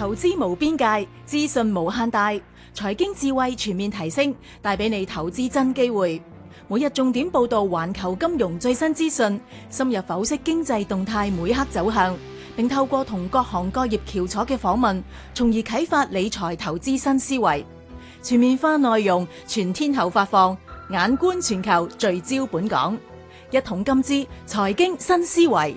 投資無邊界，資訊無限大，財經智慧全面提升，帶俾你投資真機會。每日重點報道環球金融最新資訊，深入剖析經濟動態每刻走向，並透過同各行各業翹楚嘅訪問，從而啟發理財投資新思維。全面化內容，全天候發放，眼觀全球，聚焦本港。一桶金之財經新思維。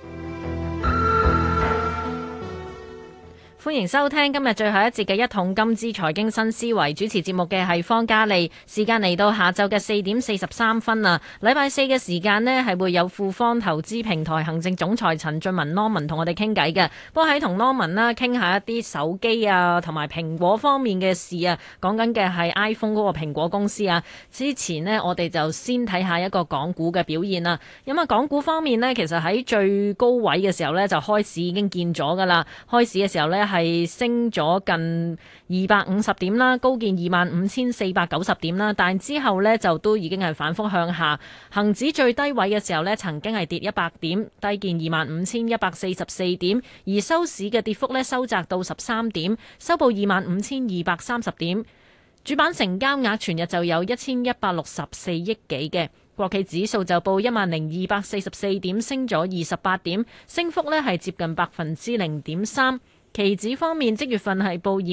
歡迎收聽今日最後一節嘅一桶金之財經新思維，主持節目嘅係方嘉利。時間嚟到下晝嘅4:43啦。禮拜四嘅時間呢係會有富方投資平台行政總裁陳俊文 Norman 同我哋傾偈嘅。不過喺同 Norman 啦傾下一啲手機啊同埋蘋果方面嘅事啊，講緊嘅係 iPhone 嗰個蘋果公司啊。之前呢，我哋就先睇下一個港股嘅表現啦。咁啊，港股方面呢，其實喺最高位嘅時候呢，就開始已經見咗噶啦。開市嘅時候呢，係升咗近250點啦，高見25,490點啦，但之後呢，就都已經係反覆向下。恒指最低位嘅時候呢，曾經係跌100點，低見25,144點，而收市嘅跌幅呢，收窄到13點，收報25,230點。主板成交額全日就有1164億幾嘅。國企指數就報10,244點，升咗28點，升幅呢係接近0.3%。期指方面，即月份係報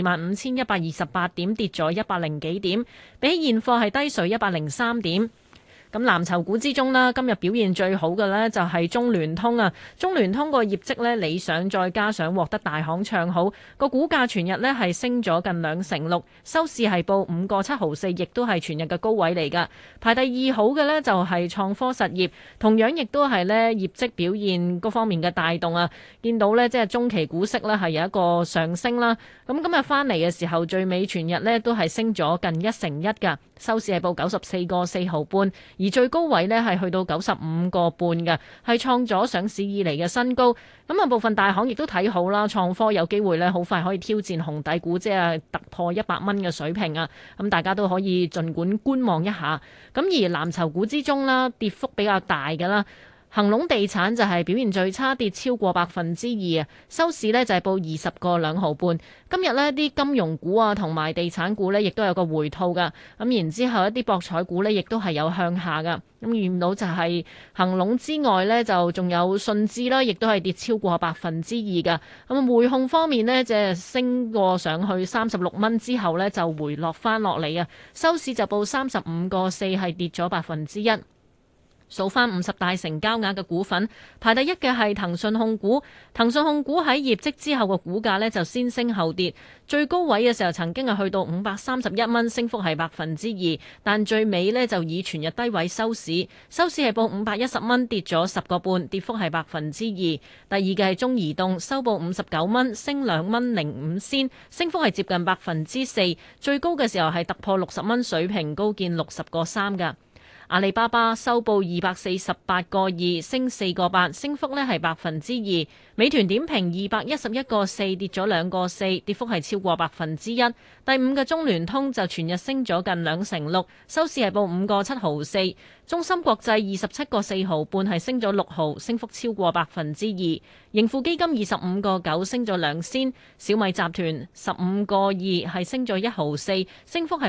25,128點，跌咗100幾點，比起現貨係低水103點。咁藍籌股之中啦，今日表現最好嘅呢就係中聯通啊！中聯通個業績呢理想，再加上獲得大行唱好，個股價全日呢係升咗近2成6，收市係報5個7毫4，亦都係全日嘅高位嚟㗎。排第二好嘅呢就係創科實業，同樣亦都係呢業績表現嗰方面嘅帶動啊！見到呢即係中期股息呢係有一個上升啦。咁今日翻嚟嘅時候，最尾全日呢都係升咗近1成1㗎，收市係報94個4毫半。而最高位呢係去到95個半嘅，係創咗上市以嚟嘅新高。咁啊，部分大行亦都睇好啦，創科有機會呢好快可以挑戰紅底股，即係突破100蚊嘅水平啊！咁大家都可以盡管觀望一下。咁而藍籌股之中啦，跌幅比較大嘅啦。恒隆地產就係表現最差，跌超過2%啊！收市呢就係報20個2毫半。今日呢啲金融股啊同埋地產股呢亦都有個回吐噶。咁然之後一啲博彩股呢亦都係有向下噶。咁見到就係恒隆之外呢，就仲有信置啦，亦都係跌超過2%噶。咁匯控方面呢，即係升過上去36蚊之後呢，就回落翻落嚟啊！收市就報35個4，係跌咗1%。數翻50大成交額嘅股份，排第一嘅係騰訊控股。騰訊控股喺業績之後嘅股價呢就先升後跌，最高位嘅時候曾經係去到531蚊，升幅係2%，但最尾呢就以全日低位收市，收市係報510蚊，跌咗10個半，跌幅係2%。第二嘅係中移動，收報59蚊，升2蚊05仙，升幅係接近4%，最高嘅時候係突破60蚊水平，高見60個3㗎。阿里巴巴收報248個2，升4個8，升幅呢係2%。美團點評211個4，跌咗2個4，跌幅係超過1%。第五嘅中聯通就全日升咗近2成6，收市係報5個7毫4。中芯國際27個4毫半，係升咗6毫，升幅超過2%。盈富基金25個9，升咗2仙。小米集團15個2，係升咗1毫4，升幅係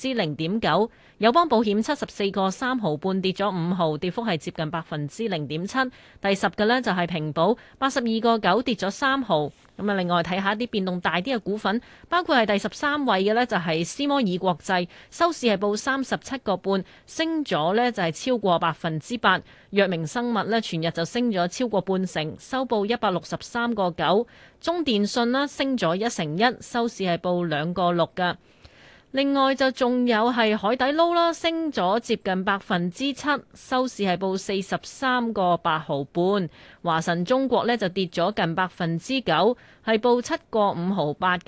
0.9%。友邦保險74個3毫半，跌咗5毫，跌幅係接近0.7%。第10嘅呢就係平保82個9，跌咗3毫。咁啊，另外睇下一啲變動大啲嘅股份，包括係第13位嘅呢就係斯摩爾國際，收市係報37個半，升咗呢就係超過8%。藥明生物呢全日就升咗超過半成，收報163個9。中電信呢升咗1成1，收市係報2個6㗎。另外就仲有係海底撈啦，升咗接近7%，收市係報43個8毫半。華晨中國呢就跌咗近9%，係報7個5毫8㗎。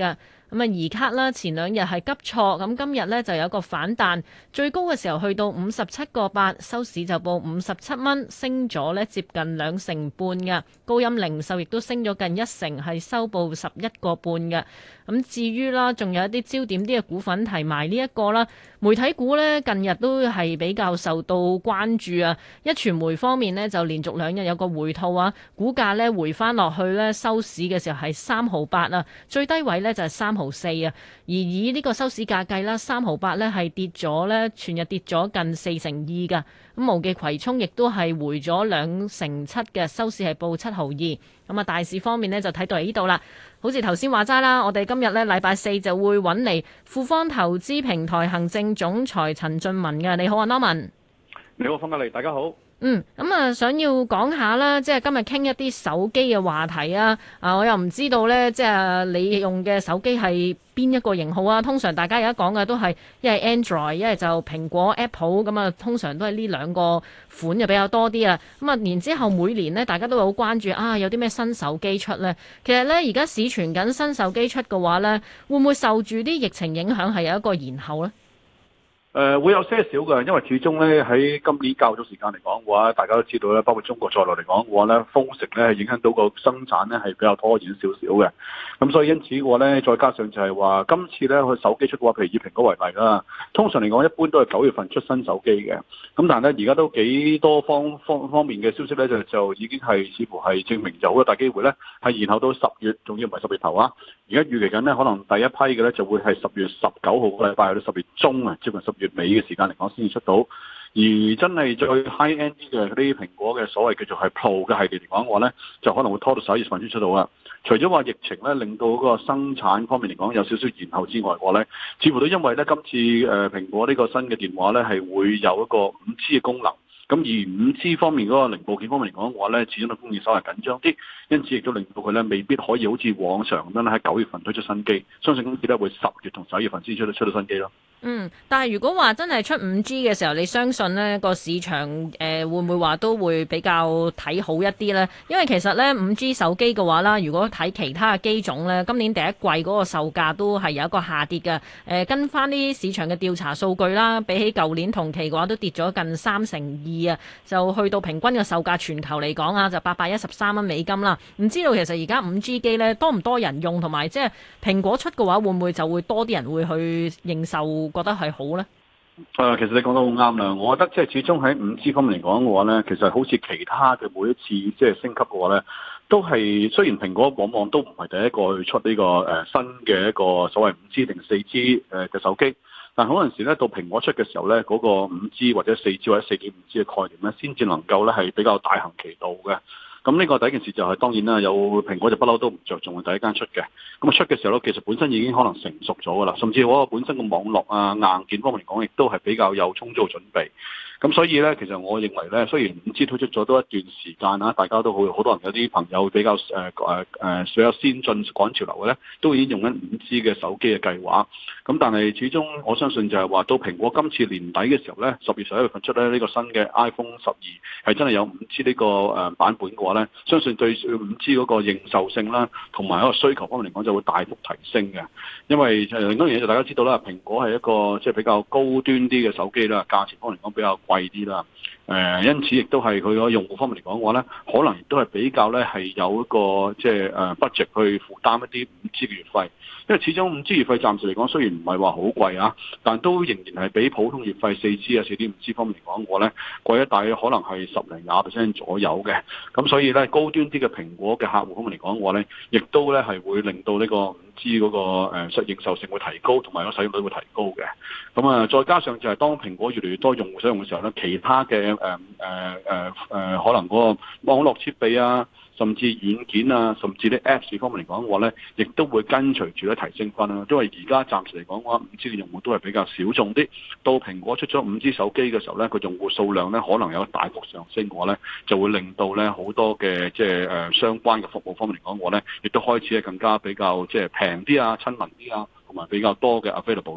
咁啊，移卡啦，前兩日係急挫，咁今日呢就有個反彈，最高嘅時候去到57.8，收市就報57蚊，升咗呢接近2成半嘅。高鑫零售亦都升咗近1成，係收報11.5嘅。咁至於啦，仲有一啲焦點啲嘅股份提埋呢一個啦，媒體股呢近日都係比較受到關注啊。一傳媒方面呢，就連續2日有個回吐啊，股價呢回翻落去呢，收市嘅時候係3.8啊，最低位呢就係3.4啊。而以呢個收市價計啦，3.8呢係跌咗呢，全日跌咗近4.2噶。咁無記葵涌亦都係回咗2.7嘅，收市係報7.2。咁啊，大市方面呢，就睇到嚟呢度啦。好似頭先話齋啦，我哋今日呢禮拜四就會揾嚟富方投資平台行政總裁陳俊文嘅。你好啊 Norman。 你好，方嘉利，大家好。 咁啊，想要講下啦，即係今日傾一啲手機嘅話題啊。我又唔知道呢，即係你用嘅手機係邊一個型號啊？通常大家而家講嘅都係一係 Android，一係就蘋果 Apple 咁啊。通常都係呢兩個款就比較多啲啊。咁啊，然之後每年呢，大家都好關注啊，有啲咩新手機出呢？其實呢，而家市傳緊新手機出嘅話呢，會唔會受住啲疫情影響係有一個延後呢？ 會有些少嘅，因為始終咧喺今年較早時間嚟講嘅話，大家都知道咧，包括中國在內嚟講嘅話咧，封城咧係影響到個生產咧係比較拖延少少嘅。咁所以因此嘅話咧，再加上就係話今次咧佢手機出嘅話，譬如以蘋果為例啦，通常嚟講一般都係9月份出新手機嘅。咁但係咧而家都幾多方面嘅消息咧，就已經係似乎係證明就好大機會咧係延後到10月，仲要唔係10月頭啊！而家預期緊咧，可能第一批嘅咧就會係10月19號個禮拜去到10月中啊，接近10月尾嘅時間嚟講先至出到。而真係最 high end 啲嘅嗰啲蘋果嘅所謂叫做係 Pro 嘅系列嚟講嘅話咧，就可能會拖到11月份先出到啦。除咗話疫情咧令到嗰個生產方面嚟講有少少延後之外嘅話咧，似乎都因為咧今次蘋果呢個新嘅電話咧係會有一個 5G 嘅功能。咁而 5G 方面嗰個零部件方面嚟講嘅話咧，始終都供應稍為緊張啲，因此亦都令到佢咧未必可以好似往常咁樣喺9月份推出新機，相信今次咧會10月同11月份先出到新機咯。 但係如果話真係出 5G 嘅時候，你相信呢個市場會唔會話都會比較睇好一啲呢？因為其實呢 5G 手機嘅話啦，如果睇其他嘅機種呢，今年第一季嗰個售價都係有一個下跌嘅。跟翻啲市場嘅調查數據啦，比起舊年同期嘅話都跌咗近3.2啊，就去到平均嘅售價全球嚟講啊，就813蚊美金啦。唔知道其實而家 5G 機呢多唔多人用，同埋即係蘋果出嘅話，會唔會就會多啲人會去認受？覺得係好呢？ 其實你講得好啱啦。我覺得即係始終喺 5G 方面嚟講嘅話呢，其實好似其他嘅每一次即係升級嘅話呢，都係雖然蘋果往往都唔係第一個去出呢個新嘅一個所謂 5G 定 4G 嘅手機，但係嗰陣時呢，到蘋果出嘅時候呢，嗰個 5G 或者 4G 或者 4.5G 嘅概念呢，先至能夠呢係比較大行其道嘅。咁呢個第一件事就係當然啦，有蘋果就不嬲都唔着重第一間出嘅。咁啊出嘅時候咧，其實本身已經可能成熟咗噶啦，甚至我本身個網絡啊硬件方面嚟講，亦都係比較有充足準備。咁所以咧，其實我認為咧，雖然 5G 推出咗都一段時間啦，大家都好多人有啲朋友比較比較先進趕潮流嘅咧，都已經用緊 5G 嘅手機嘅計劃。咁但係始終我相信就係話到蘋果今次年底嘅時候咧，10月11月份出咧呢個新嘅 iPhone 12係真係有 5G 呢個版本嘅話咧，相信對 5G 嗰個認受性啦，同埋一個需求方面嚟講就會大幅提升嘅。因為另一樣嘢就大家知道啦，蘋果係一個即係比較高端啲嘅手機啦，價錢方面嚟講比較貴啲啦。因此亦都係佢個用戶方面嚟講嘅話咧，可能亦都係比較咧係有一個即係budget 去負擔一啲 5G 嘅月費。因為始終 5G 月費暫時嚟講雖然唔係話好貴啊，但都仍然係比普通月費 4G 啊 4.5G 方面嚟講嘅話咧貴一大約可能係10-20% 左右嘅。咁所以咧高端啲嘅蘋果嘅客戶方面嚟講嘅話咧，亦都咧係會令到呢個 5G 嗰個認受性會提高，同埋個使用率會提高嘅。咁啊，再加上就係當蘋果越嚟越多用戶使用嘅時候咧，其他嘅可能嗰個網絡設備啊，甚至軟件啊，甚至啲 Apps 方面嚟講嘅話咧，亦都會跟隨住咧提升翻啦。因為而家暫時嚟講嘅話，5G 嘅用戶都係比較少眾啲。到蘋果出咗 5G 手機嘅時候咧，個用戶數量咧可能有大幅上升嘅話咧，就會令到咧好多嘅即係相關嘅服務方面嚟講嘅話咧，亦都開始係更加比較即係平啲啊、親民啲啊，同埋比較多嘅 available 咯。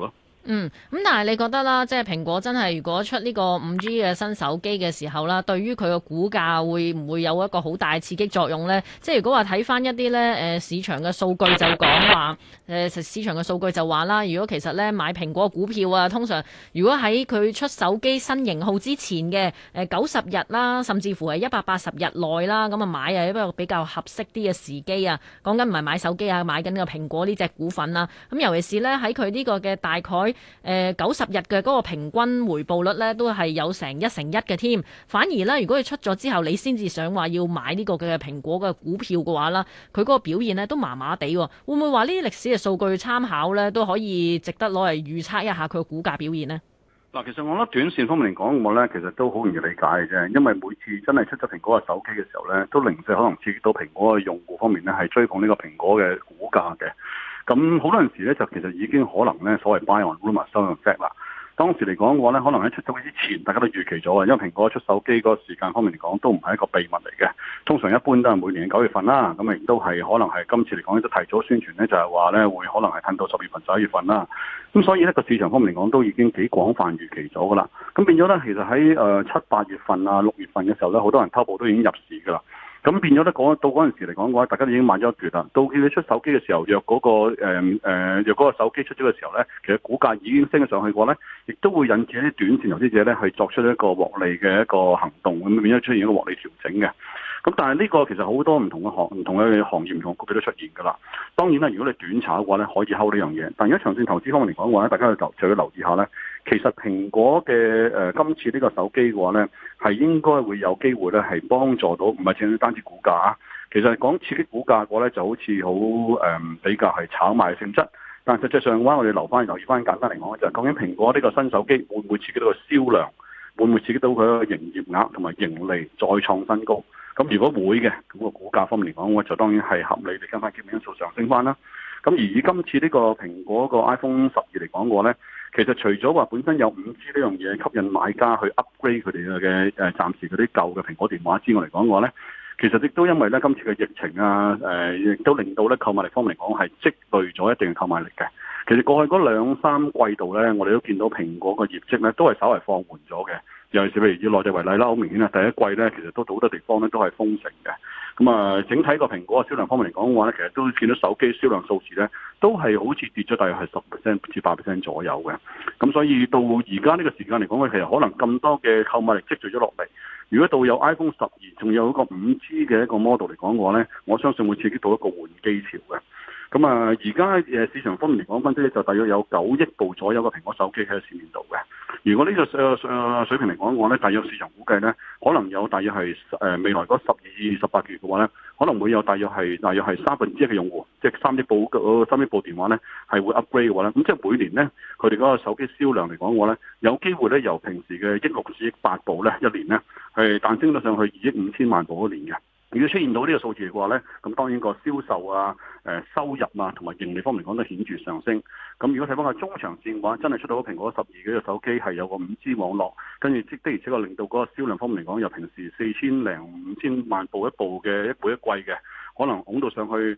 咁但係你覺得啦，即係蘋果真係如果出呢個5G 嘅新手機嘅時候啦，對於佢個股價會唔會有一個好大刺激作用呢？即係如果話睇翻一啲呢市場嘅數據就講話，市場嘅數據就話啦，如果其實呢買蘋果股票啊，通常如果喺佢出手機新型號之前嘅90日啦，甚至乎係180日內啦，咁啊買啊一個比較合適啲嘅時機啊，講緊唔係買手機啊，買緊個蘋果呢隻股份啦。咁尤其是呢，喺佢呢個嘅大概90日嘅嗰個平均回報率咧，都係有成1:1嘅添。反而咧，如果佢出咗之後，你先至想話要買呢個嘅蘋果嘅股票嘅話啦，佢嗰個表現呢都麻麻地。會唔會話呢啲歷史嘅數據參考咧，都可以值得攞嚟預測一下佢嘅股價表現呢？ 嗱，其實我覺得短線方面嚟講，我咧其實都好容易理解嘅啫，因為每次真係出咗蘋果嘅手機嘅時候咧，都零舍可能刺激到蘋果嘅用戶方面咧，係追捧呢個蘋果嘅股價嘅。咁好多陣時咧，就其實已經可能咧所謂 buy on rumor sell on fact 啦。當時嚟講嘅話咧，可能喺出手機之前，大家都預期咗啊，因為蘋果出手機嗰個時間方面嚟講，都唔係一個秘密嚟嘅。通常一般都係每年嘅9月份啦，咁亦都係可能係今次嚟講都提早宣傳咧，就係話咧會可能係褪到10月份、11月份啦。咁所以呢個市場方面嚟講，都已經幾廣泛預期咗噶啦。咁變咗咧，其實喺7、8月份啊、6月份嘅時候咧，好多人偷步都已經入市噶啦。咁變咗咧，到嗰陣時嚟講嘅話，大家都已經買咗一橛啦。到佢哋出手機嘅時候，若嗰個手機出咗嘅時候咧，其實股價已經升咗上去嘅話咧，亦都會引致一啲短線投資者咧係作出一個獲利嘅一個行動，咁變咗出現一個獲利調整嘅。咁但係呢個其實好多唔同嘅行業、唔同嘅股票都出現㗎啦。當然啦，如果你短炒嘅話咧，可以睺呢樣嘢。但如果長線投資方面嚟講嘅話咧，大家就要留意下咧。其實蘋果嘅今次呢個手機嘅話咧，係應該會有機會咧係幫助到，唔係淨係單止股價啊。其實講刺激股價嘅話咧，就好似好比較係炒賣性質。但實際上嘅話，我哋留意翻簡單嚟講，就係究竟蘋果呢個新手機會唔會刺激到個銷量，會唔會刺激到佢個營業額同埋盈利再創新高？咁如果會嘅，咁個股價方面嚟講，我就當然係合理地跟翻基本因素上升翻啦。咁而以今次呢個蘋果個 iPhone 12嚟講嘅話咧，其實除咗話本身有 5G 呢樣嘢吸引買家去 upgrade 佢哋嘅暫時嗰啲舊嘅蘋果電話之外嚟講嘅話咧，其實亦都因為咧今次嘅疫情啊，亦都令到咧購買力方面嚟講係積累咗一定嘅購買力嘅。其實過去嗰2-3季度咧，我哋都見到蘋果個業績咧都係稍為放緩咗嘅。尤其是譬如以內地為例啦，好明顯啊，第一季咧其實都好多地方咧都係封城嘅。咁啊，整體個蘋果嘅銷量方面嚟講嘅話咧，其實都見到手機銷量數字咧都係好似跌咗大約係10%至8%左右嘅。咁所以到而家呢個時間嚟講咧，其實可能咁多嘅購買力積聚咗落嚟。如果到有 iPhone 12，仲有一個 5G 嘅一個 model 嚟講嘅話咧，我相信會刺激到一個換機潮嘅。咁啊，而家市場方面嚟講，分析咧就大約有9億部左右嘅蘋果手機喺市面度嘅。如果呢個水平嚟講嘅話咧，大約市場估計咧，可能有大約係未來嗰12、18個月嘅話咧，可能會有大約係1/3嘅用戶，即係3億部電話咧係會 upgrade 嘅話咧，咁即係每年咧佢哋嗰個手機銷量嚟講嘅話咧，有機會咧由平時嘅1.6至1.8部咧一年咧係彈升到上去2.5千萬部一年嘅。如果出現到呢個數字嘅話咧，咁當然個銷售啊、收入啊同埋盈利方面講都顯著上升。咁如果睇翻個中長線嘅話，真係出到蘋果12嘅手機係有個 5G 網絡，跟住的而且確令到嗰個銷量方面嚟講，由平時4000零5000萬部一季嘅，可能拱到上去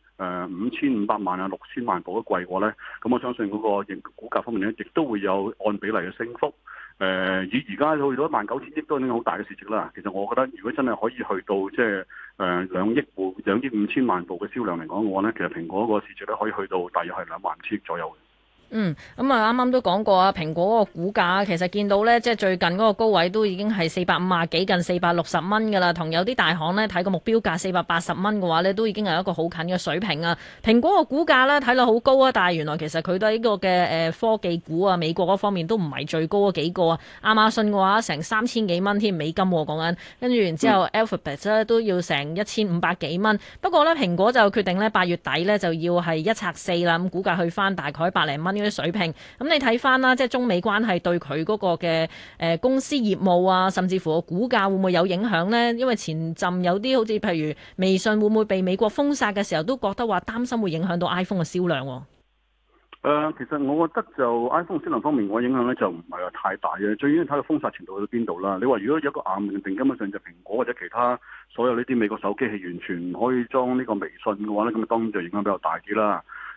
5500萬啊6000萬部一季嘅話咧，咁我相信嗰個股價方面咧，亦都會有按比例嘅升幅。以而家去到19000億都已經好大嘅市值啦。其實我覺得，如果真係可以去到即係2億5千萬部嘅銷量嚟講嘅話咧，其實蘋果個市值咧可以去到大約係2萬千億左右嘅。 咁啊，啱啱都講過啊，蘋果個股價其實見到呢，即係最近嗰個高位都已經係450幾近460蚊㗎啦，同有啲大行呢睇個目標價480蚊嘅話呢，都已經係一個好近嘅水平啊。蘋果個股價呢睇落好高啊，但係原來其實佢都係呢個嘅科技股啊，美國嗰方面都唔係最高嗰幾個啊。亞馬遜嘅話成3000幾蚊添美金喎，講緊，跟住然之後 Alphabet 咧都要成1500幾蚊。不過呢，蘋果就決定呢8月底呢就要係1拆4啦，咁股價去翻大概百零蚊。啲水平，咁你睇翻啦，即係中美關係對佢嗰個嘅公司業務啊，甚至乎個股價會唔會有影響呢？因為前陣有啲好似譬如微信會唔會被美國封殺嘅時候，都覺得話擔心會影響到 iPhone 嘅銷量。 其實我覺得就 iPhone 銷量方面，我影響咧就唔係話太大嘅，最緊要睇個封殺程度去到邊度啦。你話如果有一個硬命定，根本上就蘋果或者其他所有呢啲美國手機係完全唔可以裝呢個微信嘅話咧，咁當然就影響比較大啲啦。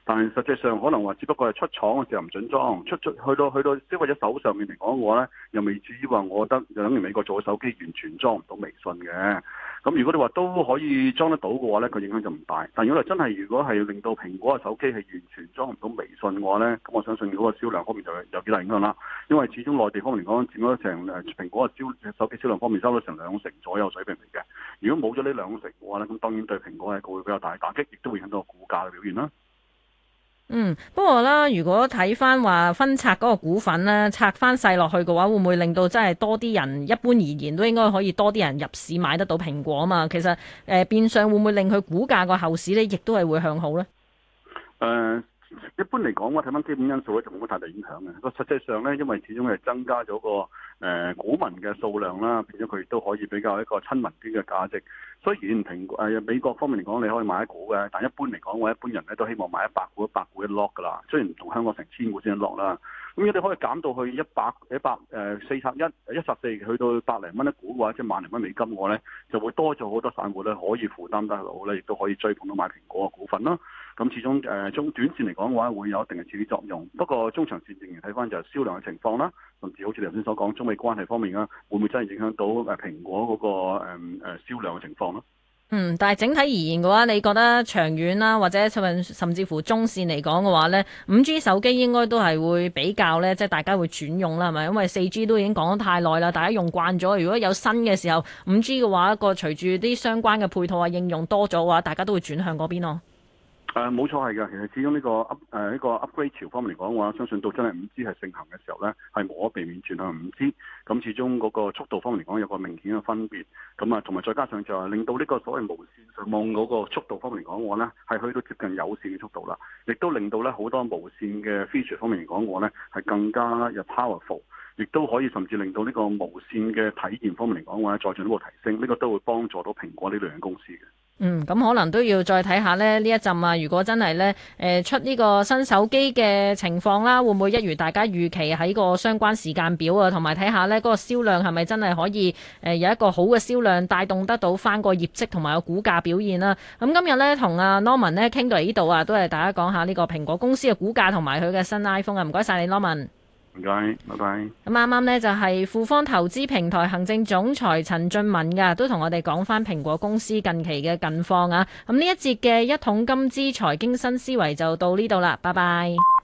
但係實際上可能話只不過係出廠嘅時候唔準裝，去到消費者手上面嚟講嘅話咧，又未至於話我覺得就等於美國做嘅手機完全裝唔到微信嘅。咁如果你話都可以裝得到嘅話咧，個影響就唔大。但如果真係如果係令到蘋果嘅手機係完全裝唔到微信嘅話咧，咁我相信嗰個銷量方面就有幾大影響啦。因為始終內地方面嚟講佔咗成蘋果嘅手機銷量方面收到成2成左右水平嚟嘅。如果冇咗呢2成嘅話咧，咁當然對蘋果係一個會比較大嘅打擊，亦都會影響到股價嘅表現啦。 不過啦，如果睇翻話分拆嗰個股份咧，拆翻細落去嘅話，會唔會令到真係多啲人？一般而言都應該可以多啲人入市買得到蘋果啊嘛。其實變相會唔會令佢股價個後市咧，亦都係會向好咧？ 一般嚟講，我睇翻基本因素咧，就冇乜太大影響嘅。個實際上咧，因為始終係增加咗個股民嘅數量啦，變咗佢亦都可以比較一個親民啲嘅價值。雖然美國方面嚟講，你可以買一股嘅，但一般嚟講，我一般人咧都希望買100股一 lock 噶啦。雖然唔同香港成1000股先一 lock 啦，咁如果你可以減到去144去到百零蚊一股嘅話，即係萬零蚊美金嘅話咧，就會多咗好多散戶咧可以負擔得到咧，亦都可以追捧到買蘋果嘅股份啦。咁始終中短線嚟講嘅話，會有一定嘅刺激作用。不過中長線仍然睇翻就係銷量嘅情況啦，甚至好似你頭先所講中美關係方面啊，會唔會真係影響到蘋果嗰個銷量嘅情況咯？ 但係整體而言嘅話，你覺得長遠啦，或者甚至乎中線嚟講嘅話呢，5G 手機應該都係會比較呢，即係大家會轉用啦，係咪？因為4G 都已經講得太耐啦，大家用慣咗。如果有新嘅時候5G 嘅話，隨住啲相關嘅配套啊應用多咗嘅話，大家都會轉向嗰邊咯。 冇錯係嘅，其實始終呢個 upgrade 潮方面嚟講嘅話，相信到真係5G 係盛行嘅時候呢，係無可避免轉向5G。咁始終嗰個速度方面嚟講有個明顯嘅分別。咁啊，同埋再加上就係令到呢個所謂無線上網嗰個速度方面嚟講嘅話呢，係去到接近有線嘅速度啦，亦都令到呢好多無線嘅 feature 方面嚟講嘅話呢，係更加有 powerful，亦都可以甚至令到呢個無線嘅體驗方面嚟講嘅話，再進一步提升。呢個都會幫助到蘋果呢類型公司嘅。 咁可能都要再睇下呢一陣啊，如果真係呢出呢個新手機嘅情況啦，會唔會一如大家預期喺個相關時間表啊，同埋睇下呢嗰個銷量係咪真係可以有一個好嘅銷量帶動得到翻個業績同埋個股價表現啦。咁今日呢，同阿 Norman 呢傾到嚟呢度啊，都係大家講下呢個蘋果公司嘅股價同埋佢嘅新 iPhone 啊。唔該晒你 Norman。 唔該，拜拜。 咁啱啱呢，就係富方投資平台行政總裁陳俊文噶，都同我哋講翻蘋果公司近期嘅近況啊。咁呢一節嘅一桶金之財經新思維就到呢度啦，拜拜。